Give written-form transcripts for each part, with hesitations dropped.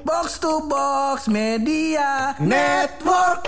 Box to Box Media Network.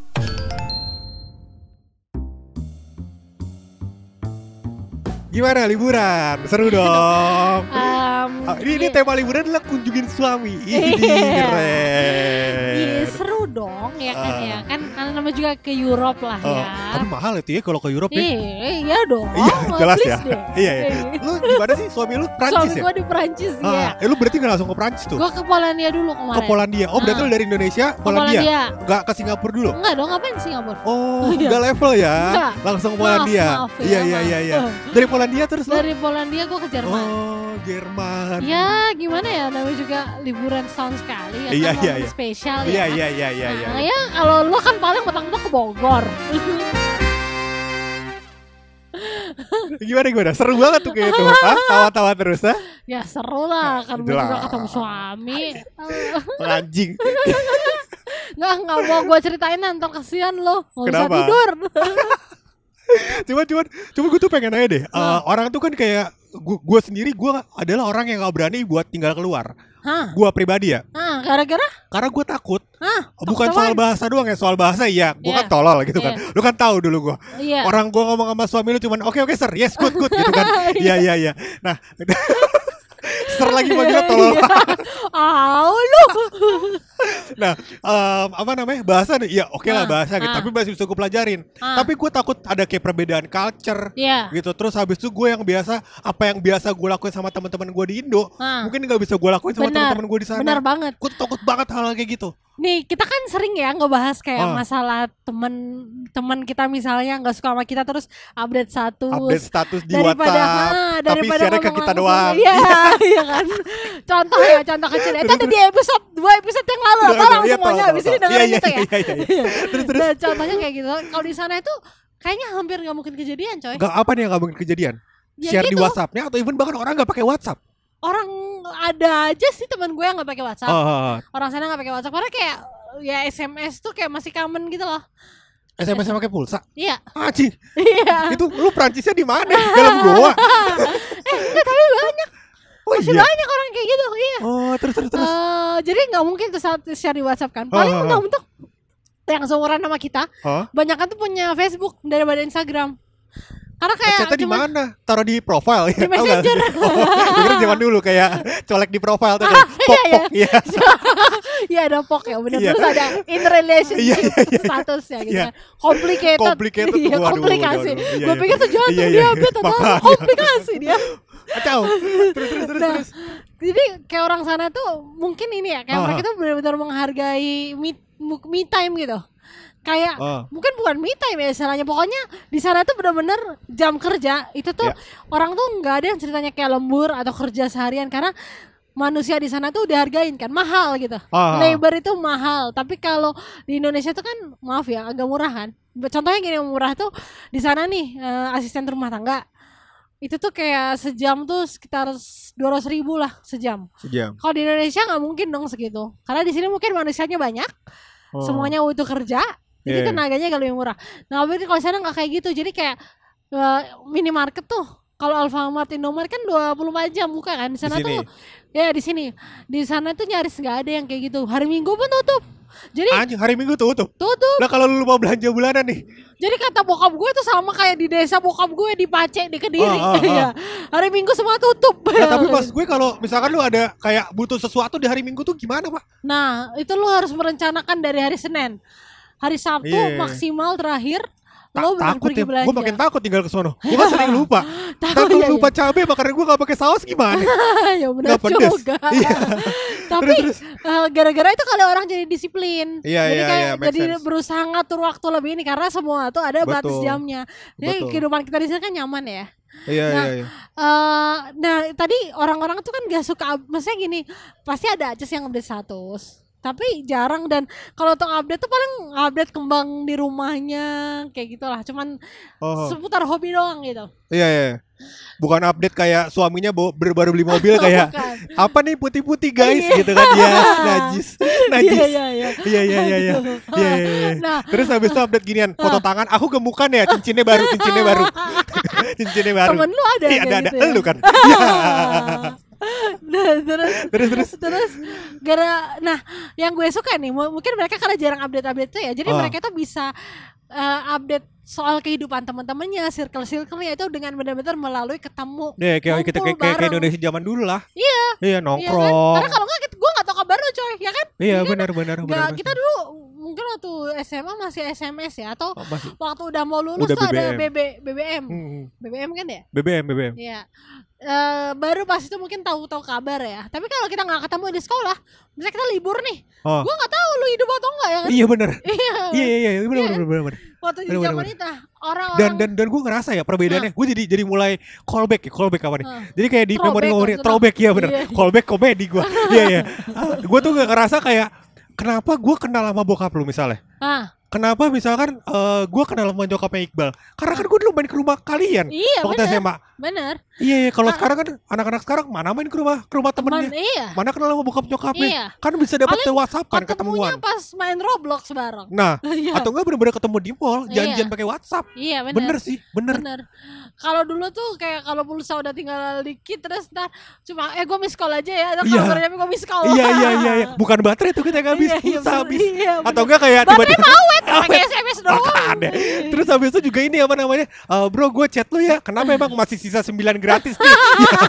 Gimana liburan? Seru dong. Ini tema liburan adalah kunjungin suami. Ini keren. Iya seru dong ya kan ya kan karena namanya juga ke Europe lah ya. Tapi mahal itu ya kalau ke Europe ya. Iya dong. Iya jelas ya. Deh. Iya. Lu gimana sih suami lu Prancis ya? Suami gue di Prancis ya. Lu berarti gak langsung ke Prancis tuh? Gue ke Polandia dulu kemarin. Ke Polandia. Oh berarti lu dari Indonesia Polandia. Gak ke Singapura dulu? Enggak dong, ngapain di Singapura? Oh gak level ya. Enggak. Langsung Polandia. Maaf ya. Iya. Dari Polandia terus lu? Dari Polandia gue ke Jerman. Oh Jerman. Ya gimana ya, namanya juga liburan setahun sekali ya. Iya, kan iya. momen spesial ya. Iya. Nah, ya kalau lu kan paling mentok-mentok ke Bogor. Gimana? Seru banget tuh kayak itu. Tawa-tawa terus ha? Ya seru lah, kan gue juga ketemu suami. Anjing. Nggak mau gue ceritain ntar kasihan lo. Nggak bisa Kenapa? tidur. Cuma gue tuh pengen nanya deh. Orang tuh kan kayak gue sendiri, gue adalah orang yang gak berani buat tinggal keluar. Gue pribadi ya. Gara-gara? Karena gue takut. Bukan takut soal apaan? bahasa doang ya. Soal bahasa iya. Gue kan Iya. tolol gitu kan. Lu kan tahu dulu gue. Iya. Orang gue ngomong sama suami lu cuman oke sir. Yes good gitu kan. Iya. Nah ser lagi manggilnya tolol. Lu. Nah apa namanya bahasa nih. Ya oke lah bahasa gitu. Tapi masih bisa gue pelajarin. Tapi gue takut ada kayak perbedaan culture gitu. Terus habis itu gue yang biasa, apa yang biasa gue lakuin sama teman-teman gue di Indo mungkin gak bisa gue lakuin sama teman-teman gue di sana. Benar banget. Gue takut banget hal kayak gitu. Nih kita kan sering ya ngebahas kayak masalah teman kita misalnya nggak suka sama kita terus update status di daripada, WhatsApp tapi daripada share ke ngomong kita langsung. doang. Iya kan. Contoh kecil itu ada di episode 2 episode yang lalu. Tolong semuanya abis ini dengerin itu ya. Iya. Terus. Nah, contohnya kayak gitu. Kalau di sana itu kayaknya hampir nggak mungkin kejadian, coy. Gak apa nih yang gak mungkin kejadian? Ya Share gitu. di WhatsAppnya atau even bahkan orang gak pakai WhatsApp. Orang ada aja sih teman gue yang nggak pakai WhatsApp. Orang sana nggak pakai WhatsApp karena kayak ya SMS tuh kayak masih common gitu loh. SMS pakai pulsa. Iya. Anjing. Iya. Itu lu Prancisnya di mana? Dalam goa. Enggak, tapi banyak. Masih banyak orang kayak gitu. Iya. Oh, terus. Jadi nggak mungkin tuh saat share di WhatsApp kan. Paling mentok-mentok yang seumuran sama kita, banyak kan tuh punya Facebook daripada Instagram. Karena kayak chatnya di mana? Taruh di profile ya? Di Messenger. Kira zaman dulu kayak colek di profile tuh kan. Pok. Iya. Iya ada pok ya benar. Terus ada in relationship statusnya gitu kan. Complicated. Iya, komplikasi. Gue pikir tuh jantung diabetes atau komplikasi dia. Kacau. Terus. Jadi kayak orang sana tuh mungkin ini ya, kayak mereka tuh benar-benar menghargai me time gitu. Kayak mungkin bukan me time ya istilahnya, pokoknya di sana tuh benar-benar jam kerja itu tuh orang tuh nggak ada yang ceritanya kayak lembur atau kerja seharian karena manusia di sana tuh dihargain kan, mahal gitu. Labor itu mahal, tapi kalau di Indonesia tuh kan maaf ya agak murah kan. Contohnya gini, murah tuh di sana nih asisten rumah tangga itu tuh kayak sejam tuh sekitar 200.000 lah sejam. Kalau di Indonesia nggak mungkin dong segitu, karena di sini mungkin manusianya banyak, semuanya butuh kerja. Jadi tenaganya kalau lebih murah. Nah, berarti kalau sana nggak kayak gitu. Jadi kayak minimarket tuh, kalau Alfamart, Indomaret kan 24 jam buka kan. Di sana tuh, ya di sini, di sana tuh nyaris nggak ada yang kayak gitu. Hari Minggu pun tutup. Jadi hari Minggu tutup. Tutup. Lah kalau lu mau belanja bulanan nih. Jadi kata bokap gue tuh sama kayak di desa bokap gue di Pace di Kediri. Hari Minggu semua tutup. Nah, tapi mas gue kalau misalkan lu ada kayak butuh sesuatu di hari Minggu tuh gimana pak? Nah itu lu harus merencanakan dari hari Senin. Hari Sabtu maksimal terakhir lo takut pergi ya, belanja. gue makin takut tinggal ke sono. Gue kan sering lupa. Takut lupa cabai, makanya gue gak pakai saus gimana? Ya benar juga. Tapi gara-gara itu kali orang jadi disiplin. Jadi kayak jadi berusaha ngatur waktu lebih ini karena semua tuh ada batas jamnya. Jadi kehidupan kita di sini kan nyaman ya. Iya. Nah tadi orang-orang tuh kan gak suka, maksudnya gini, pasti ada aja sih yang update status. Tapi jarang, dan kalau untuk update tuh paling update kembang di rumahnya kayak gitulah, cuman seputar hobi doang gitu. Iya. Bukan update kayak suaminya baru beli mobil kayak apa nih putih-putih guys gitu kan ya, najis. Iya. Nah, terus habis itu update ginian, foto tangan, aku gemukan ya, cincinnya baru. Temen lu ada iya, kayak ada gitu ya? lu kan. terus nah yang gue suka nih mungkin mereka karena jarang update tuh ya, jadi mereka tuh bisa update soal kehidupan teman-temannya, circle-nya itu dengan benar-benar melalui ketemu. Kayak Indonesia zaman dulu lah. Iya nongkrong. Iya kan? Karena kalau enggak gue enggak tahu kabar lu coy, ya kan? Iya benar. Kita dulu mungkin waktu SMA masih SMS ya, atau waktu udah mau lulus udah tuh BBM. Ada BBM. BBM kan ya? BBM. Iya. Baru pas itu mungkin tahu kabar ya. Tapi kalau kita nggak ketemu di sekolah, misalnya kita libur nih, gue nggak tahu lu hidup atau enggak ya kan? Iya benar. Iya benar. Waktu di zaman itu orang-orang dan gue ngerasa ya perbedaannya, gue jadi mulai callback apa nih? Jadi kayak di memori throwback ya benar. Callback komedi gue. Iya. Gue tuh nggak ngerasa kayak kenapa gue kenal sama bokap lu misalnya. Kenapa misalkan gue kenal sama nyokapnya Iqbal? Karena kan gue dulu main ke rumah kalian waktu SMA. Bener. Iya, kalau sekarang kan anak-anak sekarang mana main ke rumah temennya. Mana kenal sama bokap nyokapnya. Iya. Kan bisa dapat WhatsApp kan ketemuan. Pas main Roblox bareng. Nah, atau enggak bener-bener ketemu di mall, janjian pakai WhatsApp. Iya, bener. Bener sih, bener. Kalau dulu tuh kayak kalau pulsa udah tinggal dikit terus ntar cuma gue miss call aja ya, ada kabarnya gue miss call. Iya. Bukan baterai tuh kita habis, pulsa habis. Atau enggak kayak tiba-tiba pakai SMS doang. Terus habis itu juga ini apa namanya? Bro, gue chat lu ya. Kenapa emang masih sisa 9 gratis nih?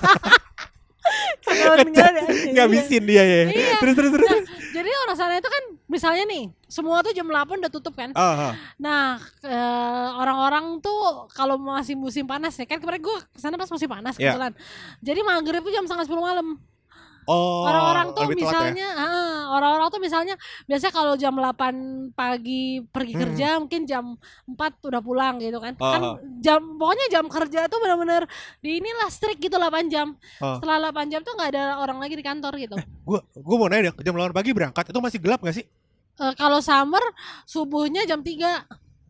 Ngabisin dia ya. Terus. Nah, jadi orang sana itu kan misalnya nih, semua tuh jam 8 udah tutup kan. Nah, orang-orang tuh kalau masih musim panas ya kan, kemarin gue kesana pas musim panas kebetulan. Jadi maghrib tuh jam 9:30 malam. Orang-orang tuh misalnya orang-orang tuh misalnya biasanya kalau jam 8 pagi pergi kerja, mungkin jam 4 udah pulang gitu kan. Kan pokoknya jam kerja tuh benar-benar di inilah strict gitu 8 jam. Setelah 8 jam tuh enggak ada orang lagi di kantor gitu. Gua mau nanya deh, jam 8 pagi berangkat itu masih gelap enggak sih? Kalau summer subuhnya jam 3.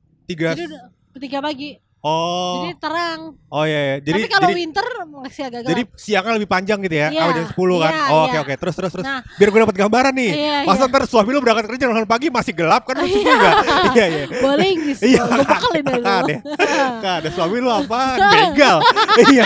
3 pagi. Jadi terang. Iya. Tapi kalau winter masih agak gelap. Jadi siangnya lebih panjang gitu ya? Jam 10 kan? Oke. Terus. Nah, biar gue dapat gambaran nih. Masa ntar suami lu berangkat kerja jam 8 pagi masih gelap kan? Lucu juga. Iya. Boleh gitu. Gue bakalin dulu. Kan ada suami lu apa? Begal. Iya.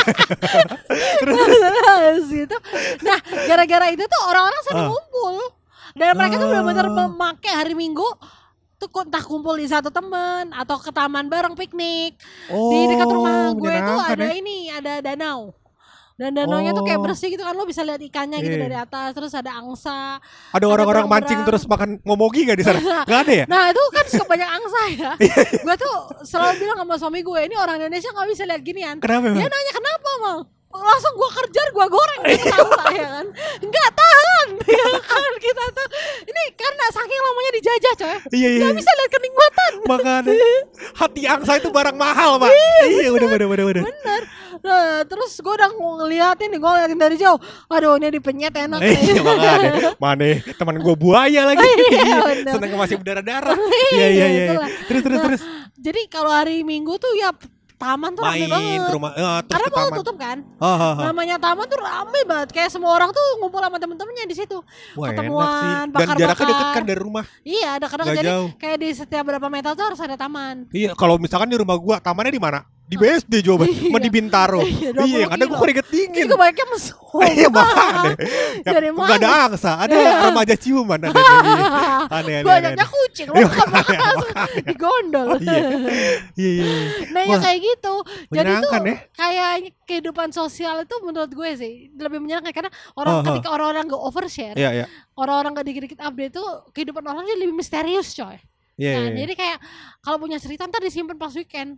Terus gitu. Nah, gara-gara itu tuh orang-orang sering ngumpul. Dan mereka tuh benar-benar memakai hari Minggu tuh entah kumpul di satu teman atau ke taman bareng piknik. Di dekat rumah gue tuh ada ada danau. Dan danaunya tuh kayak bersih gitu kan, lo bisa lihat ikannya gitu dari atas, terus ada angsa. Ada orang-orang mancing terus makan ngomogi gak di sana? Gak ada ya? Nah itu kan suka banyak angsa ya. Gue tuh selalu bilang sama suami gue, ini orang Indonesia gak bisa lihat ginian. Kenapa? Dia nanya kenapa Mal? Langsung gue kerjar, gue goreng gitu angsa ya kan. Nggak tahan ya kan, kita tuh ini karena saking lamanya dijajah coy. Iya. Gak bisa lihat kenikmatan. Makanya hati angsa itu barang mahal Pak. Iya bener. Nah, terus gue udah ngeliatin nih, gue ngeliatin dari jauh. Aduh ini dipenyet enak. Iya makanya. Mana teman gue buaya lagi. Seneng masih berdarah-darah. Iya. Terus. Jadi kalau hari Minggu tuh ya taman tuh rame banget. Ke rumah, karena mau tutup kan. Namanya taman tuh rame banget. Kayak semua orang tuh ngumpul sama temen-temennya di situ. Ketemuan, bakar-bakar. Dan jaraknya deket kan dari rumah. Iya, dekat-dekat. Jadi kayak di setiap berapa meter tuh harus ada taman. Iya, kalau misalkan di rumah gua tamannya di mana? Di BSD Jawa Barat, di Bintaro. Iya, ada gua keringet dingin. Itu banyaknya mesum. Iya, makanya. Enggak ada angsa, ada remaja ciuman ada. Aneh. Banyaknya kucing loh, digondol. Iya. Nah, ya kayak gitu. Jadi tuh kayak kehidupan sosial itu menurut gue sih lebih menyenangkan karena ketika orang-orang gak overshare, orang-orang gak dikit-dikit update tuh kehidupan orang jadi lebih misterius coy. Jadi kayak kalau punya cerita ntar disimpan pas weekend.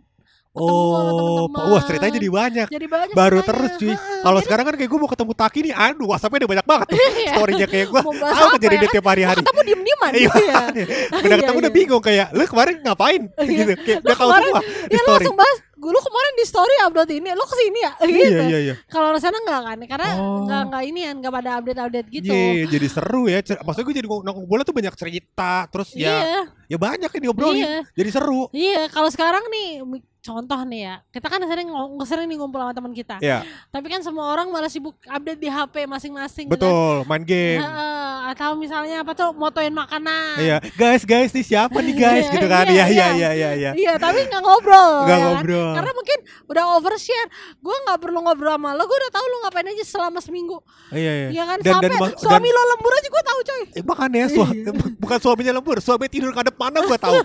Wah ceritanya jadi banyak. Baru terus cuy. Kalau sekarang kan kayak gue mau ketemu Taki nih, aduh WhatsApp-nya udah banyak banget tuh. Story-nya kayak gue tahu kejadian dia tiap hari-hari. Ketemu diem-dieman. Udah ketemu udah bingung kayak, lu kemarin ngapain? Gitu. Kayak udah tahu semua di story. Langsung bahas, lu kemarin di story upload ini, lu kesini ya? Gitu. Iya. Kalau di sana enggak kan? Karena enggak inian, enggak pada update-update gitu. Iya, jadi seru ya. Maksudnya gue jadi ngumpulnya tuh banyak cerita, terus ya ya banyak yang diobrolin. Jadi seru. Iya, kalau sekarang nih contoh nih ya, kita kan sering nih ngumpul sama teman kita. Tapi kan semua orang malah sibuk update di HP masing-masing. Betul, main game. Atau misalnya apa tuh, motoin makanan. Iya, guys nih siapa nih guys gitu kan. Iya. Iya, tapi nggak ngobrol. Nggak ngobrol. Karena mungkin udah overshare. Gue nggak perlu ngobrol sama lo, gue udah tahu lo ngapain aja selama seminggu. Iya kan, sampai suami lo lembur aja gue tahu coy. Makanya bukan suaminya lembur, suami tidur ngadep mana gue tahu.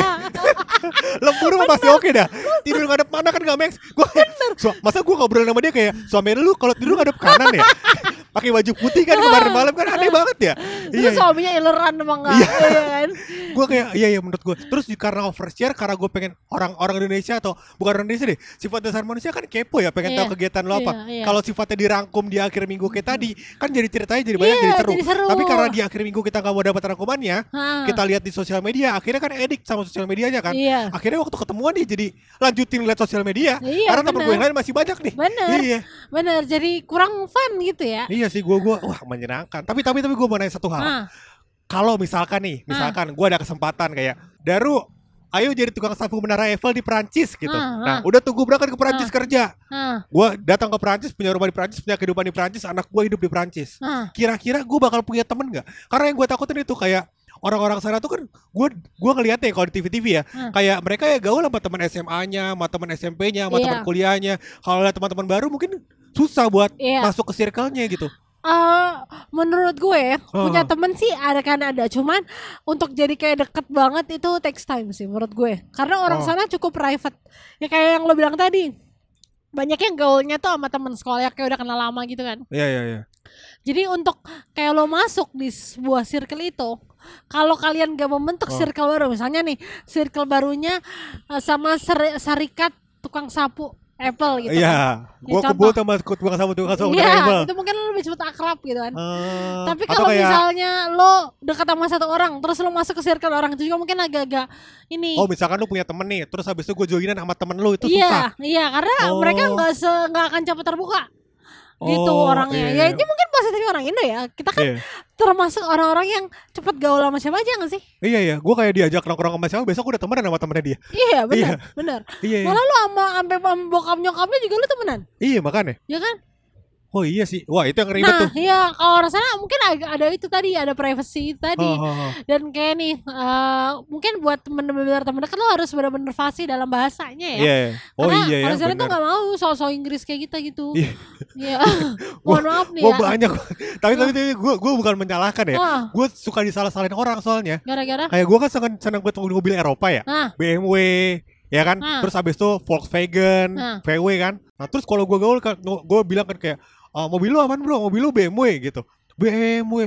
Lembur masih oke dah. Tidur ngadep mana kan gak make. Masa gue ngobrol sama dia kayak, suami lu kalau tidur ngadep kanan ya? Pakai baju putih kan kemarin malam kan, aneh banget ya. Terus suaminya ileran emang gak. Iya kan. Gue kayak iya menurut gue. Terus karena overshare, karena gue pengen orang Indonesia atau bukan orang Indonesia deh, sifat dasar manusia kan kepo ya, pengen tahu kegiatan lo apa. Kalau sifatnya dirangkum di akhir minggu kayak tadi, kan jadi ceritanya jadi banyak, jadi seru. Tapi karena di akhir minggu kita gak mau dapat rangkumannya, kita lihat di sosial media, akhirnya kan edik sama sosial medianya kan. Akhirnya waktu ketemuan dia jadi lanjutin lihat sosial media. Karena temen gue yang lain masih banyak nih. Bener, jadi kurang fun gitu ya. Iya sih, gue wah menyenangkan. Tapi gue mau nanya satu hal. Kalau misalkan gue ada kesempatan kayak, Daru, ayo jadi tukang sapu menara Eiffel di Perancis gitu. Nah, udah tuh gue berangkat ke Perancis kerja. Gue datang ke Perancis, punya rumah di Perancis, punya kehidupan di Perancis, anak gue hidup di Perancis. Kira-kira gue bakal punya temen gak? Karena yang gue takutin itu kayak orang-orang sana tuh kan, gue ngeliatnya kalau di TV-TV ya, kayak mereka ya gaul sama teman SMA-nya, sama teman SMP-nya, sama teman kuliahnya. Kalau lihat teman-teman baru mungkin susah buat masuk ke circle-nya gitu. Menurut gue punya temen sih ada, cuman untuk jadi kayak deket banget itu takes time sih menurut gue, karena orang sana cukup private ya, kayak yang lo bilang tadi, banyak yang gaulnya tuh sama temen sekolah kayak udah kenal lama gitu kan. Iya. Jadi untuk kayak lo masuk di sebuah circle itu, kalau kalian gak membentuk circle baru, misalnya nih circle barunya sama serikat tukang sapu Apple gitu. Iya, gue kebut sama tukang sapu Apple. Iya, itu mungkin lo lebih cepet akrab gitu kan. Tapi kalau misalnya lo dekat sama satu orang, terus lo masuk ke circle orang itu juga mungkin agak-agak ini. Oh, misalkan lo punya temen nih, terus habis itu gue joinan sama temen lo, itu susah. Iya, karena mereka nggak akan cepet terbuka. Gitu orangnya. Ya ini mungkin positifnya orang Indo ya. Kita kan termasuk orang-orang yang cepet gaul sama siapa aja gak sih? Iya. Gue kayak diajak nongkrong sama siapa, besok gue udah temenan sama temennya dia. Iya benar. Malah lu sampai bokap nyokapnya juga lu temenan. Iya makanya. Ya kan? Oh iya sih, wah itu yang ribet tuh. Nah iya, kalau orang sana mungkin ada itu tadi, ada privacy tadi. Dan kayak nih, mungkin buat bener-bener temen dekat lo harus bener-bener fasih dalam bahasanya ya. Karena orang sana tuh gak mau so-so Inggris kayak gitu. Iya. Mohon maaf nih ya. Banyak. Tapi gue bukan menyalahkan ya. Gue suka disalah-salahin orang soalnya. Gara-gara? Kayak gue kan seneng buat mobil Eropa ya. BMW, ya kan. Terus habis itu Volkswagen, VW kan. Nah terus kalau gue gaul, gue bilang kan kayak, mobil lu aman bro, mobil lu BMW gitu. BMW,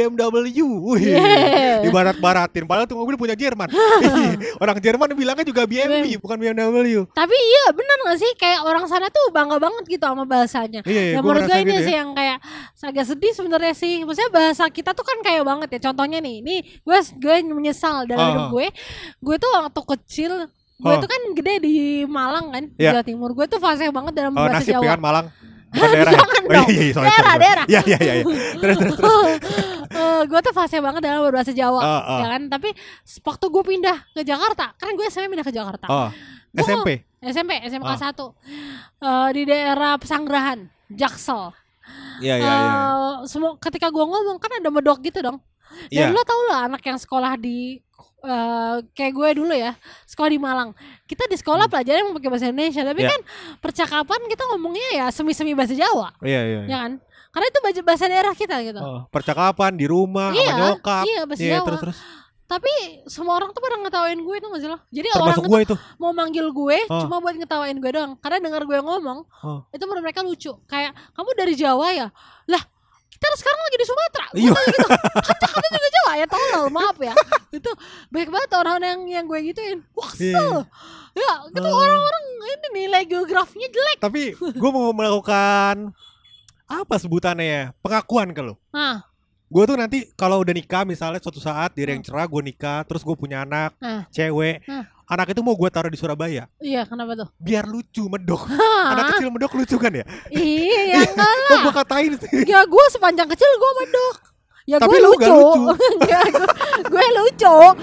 dibarat-baratin. Padahal tuh mobil punya Jerman. Orang Jerman bilangnya juga BMW, bukan BMW. Tapi iya benar gak sih, kayak orang sana tuh bangga banget gitu sama bahasanya. Iya, menurut gue ini gitu sih yang kayak agak sedih sebenarnya sih. Maksudnya bahasa kita tuh kan kayak banget ya. Contohnya nih gue menyesal dalam hidup gue. Gue tuh waktu kecil, gue tuh kan gede di Malang kan, Jawa Timur. Gue tuh fasih banget dalam bahasa Jawa. Nasib kan Malang. Bukan daerah. Daerah. Iya. Terus. Gue tuh fase banget dalam berbahasa Jawa, ya kan. Tapi waktu gue pindah ke Jakarta, kan gue SMP pindah ke Jakarta. SMP kelas 1 di daerah Pesanggerahan, Jaksel. Iya. Semua ketika gue ngomong kan ada medok gitu dong. Dan lo tau lah anak yang sekolah di kayak gue dulu ya, sekolah di Malang. Kita di sekolah pelajaran yang pakai bahasa Indonesia, tapi kan percakapan kita ngomongnya ya semi-semi bahasa Jawa. Iya. Ya kan? Karena itu bahasa daerah kita gitu. Percakapan di rumah sama nyokap. Iya, bahasa Jawa. Terus. Tapi semua orang tuh pada ngetawain gue tuh gak sih lo. Jadi termasuk orang itu mau manggil gue cuma buat ngetawain gue doang. Karena dengar gue ngomong itu menurut mereka lucu. Kayak, kamu dari Jawa ya? Lah, kita sekarang lagi di Sumatera. Gue gitu. Kata-kata juga Jawa ya, tolol, maaf ya. Itu baik banget orang yang gue gituin. Wah kesel. Ya itu orang-orang ini nilai geografinya jelek. Tapi gue mau melakukan apa sebutannya ya, pengakuan ke lo. Gue tuh nanti kalau udah nikah misalnya suatu saat di yang cerah gue nikah, terus gue punya anak cewek. Anak itu mau gue taruh di Surabaya. Iya, kenapa tuh? Biar lucu, medok. Anak kecil medok lucu kan ya? Iya, enggak lah. Kok gue katain sih? Ya gue sepanjang kecil gue medok. Ya tapi gue lucu. Gue lucu.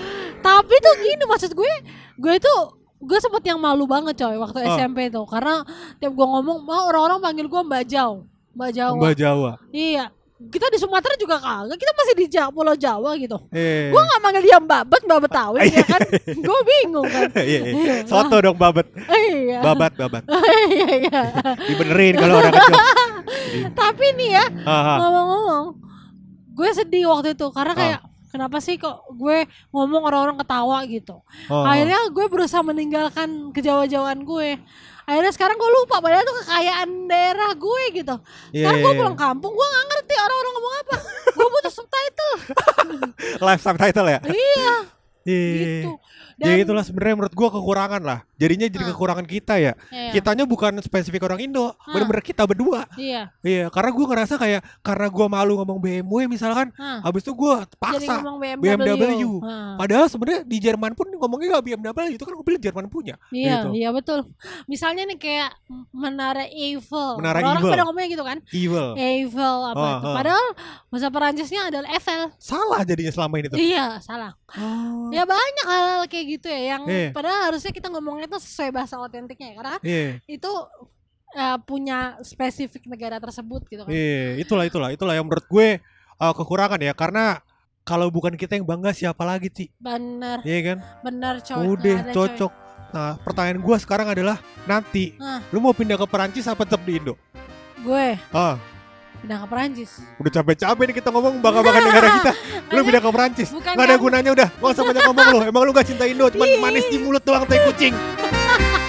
Tapi tuh gini, maksud gue sempet yang malu banget coy waktu SMP tuh, karena tiap gue ngomong orang-orang panggil gue Mbak Jawa. Iya. Kita di Sumatera juga kagak, kita masih di Pulau Jawa gitu. Gue gak manggil dia Mbak Betawi ya kan. Gue bingung kan. Soto dong Babet. Babat. Iya. Dibenerin kalau orang kecil. Tapi nih ya, ngomong-ngomong, gue sedih waktu itu karena kayak kenapa sih kok gue ngomong orang-orang ketawa gitu. Akhirnya gue berusaha meninggalkan kejawa-jawaan gue. Akhirnya sekarang gue lupa padahal itu kekayaan daerah gue gitu. Sekarang gue pulang kampung, gue gak ngerti orang-orang ngomong apa. Gue butuh subtitle. Live subtitle ya? Iya. Gitu. Dan, ya itulah sebenarnya menurut gue kekurangan lah. Jadinya jadi kekurangan kita ya. Kitanya bukan spesifik orang Indo, bener-bener kita berdua. Iya, karena gue ngerasa kayak karena gue malu ngomong BMW misalkan, habis itu gue paksa BMW. Padahal sebenarnya di Jerman pun ngomongnya gak BMW, itu kan mobil Jerman punya. Iya, gitu. Iya betul. Misalnya nih kayak Menara Eiffel. Orang pada ngomongnya gitu kan? Eiffel apa itu. Padahal bahasa Perancisnya adalah Eiffel. Salah jadinya selama ini tuh. Iya, salah. Ya banyak hal kayak gitu ya yang padahal harusnya kita ngomongnya itu sesuai bahasa otentiknya ya, karena itu punya spesifik negara tersebut gitu kan. Itulah yang menurut gue kekurangan ya, karena kalau bukan kita yang bangga siapa lagi sih? Bener. Iya kan? Bener coy. Udah cocok. Coy. Nah, pertanyaan gue sekarang adalah nanti lu mau pindah ke Perancis apa tetap di Indo? Gue. Pindah ke Perancis. Udah capek-capek nih kita ngomong bangga-bangga negara kita. Lu pindah ke Perancis. Gak ada gunanya udah. Gak usah banyak ngomong lu. Emang lu gak cinta Indo, cuman manis di mulut doang tai kucing.